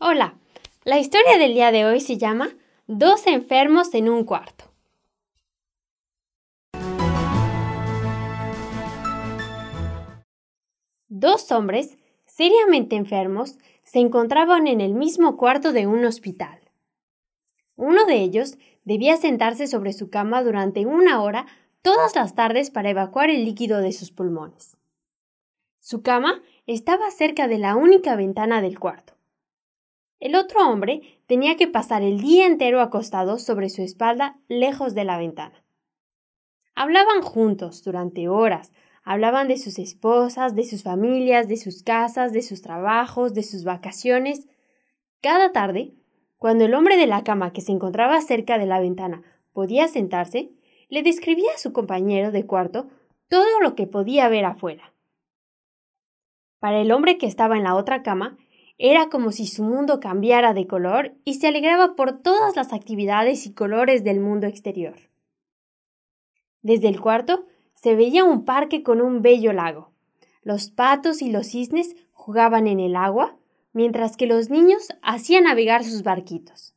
Hola, la historia del día de hoy se llama Dos enfermos en un cuarto. Dos hombres, seriamente enfermos, se encontraban en el mismo cuarto de un hospital. Uno de ellos debía sentarse sobre su cama durante 1 hora todas las tardes para evacuar el líquido de sus pulmones. Su cama estaba cerca de la única ventana del cuarto. El otro hombre tenía que pasar el día entero acostado sobre su espalda lejos de la ventana. Hablaban juntos durante horas. Hablaban de sus esposas, de sus familias, de sus casas, de sus trabajos, de sus vacaciones. Cada tarde, cuando el hombre de la cama que se encontraba cerca de la ventana podía sentarse, le describía a su compañero de cuarto todo lo que podía ver afuera. Para el hombre que estaba en la otra cama, era como si su mundo cambiara de color y se alegraba por todas las actividades y colores del mundo exterior. Desde el cuarto se veía un parque con un bello lago. Los patos y los cisnes jugaban en el agua, mientras que los niños hacían navegar sus barquitos.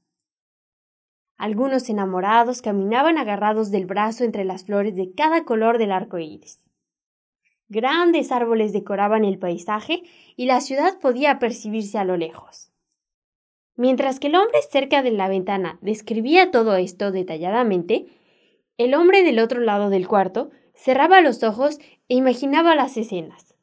Algunos enamorados caminaban agarrados del brazo entre las flores de cada color del arco iris. Grandes árboles decoraban el paisaje y la ciudad podía percibirse a lo lejos. Mientras que el hombre cerca de la ventana describía todo esto detalladamente, el hombre del otro lado del cuarto cerraba los ojos e imaginaba las escenas.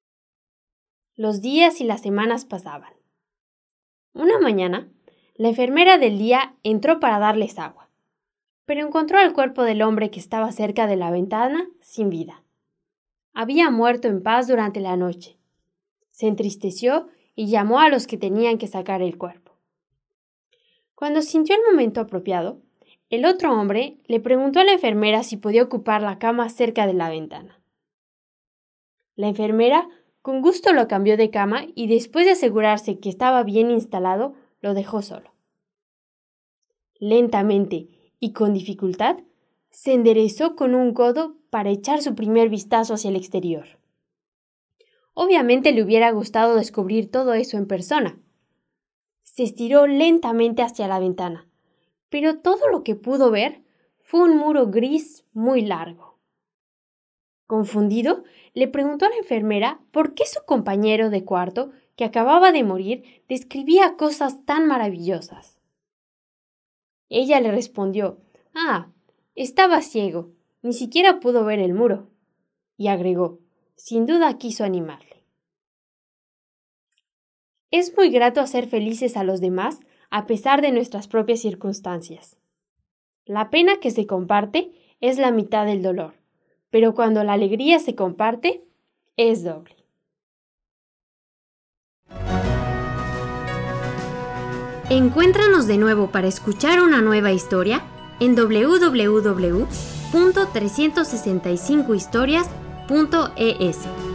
Los días y las semanas pasaban. Una mañana, la enfermera del día entró para darles agua, pero encontró al cuerpo del hombre que estaba cerca de la ventana sin vida. Había muerto en paz durante la noche. Se entristeció y llamó a los que tenían que sacar el cuerpo. Cuando sintió el momento apropiado, el otro hombre le preguntó a la enfermera si podía ocupar la cama cerca de la ventana. La enfermera con gusto lo cambió de cama y después de asegurarse que estaba bien instalado, lo dejó solo. Lentamente y con dificultad, se enderezó con un codo para echar su primer vistazo hacia el exterior. Obviamente le hubiera gustado descubrir todo eso en persona. Se estiró lentamente hacia la ventana, pero todo lo que pudo ver fue un muro gris muy largo. Confundido, le preguntó a la enfermera por qué su compañero de cuarto, que acababa de morir, describía cosas tan maravillosas. Ella le respondió: estaba ciego, ni siquiera pudo ver el muro. Y agregó: sin duda quiso animarle. Es muy grato hacer felices a los demás a pesar de nuestras propias circunstancias. La pena que se comparte es la mitad del dolor, pero cuando la alegría se comparte, es doble. Encuéntranos de nuevo para escuchar una nueva historia en www.365historias.es.